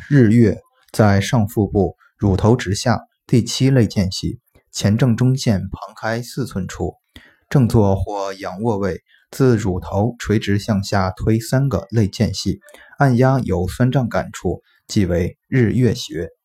日月在上腹部乳头直下第7肋间隙，前正中线旁开4寸处，正坐或仰卧位，自乳头垂直向下推3个肋间隙，按压有酸胀感处，即为日月穴。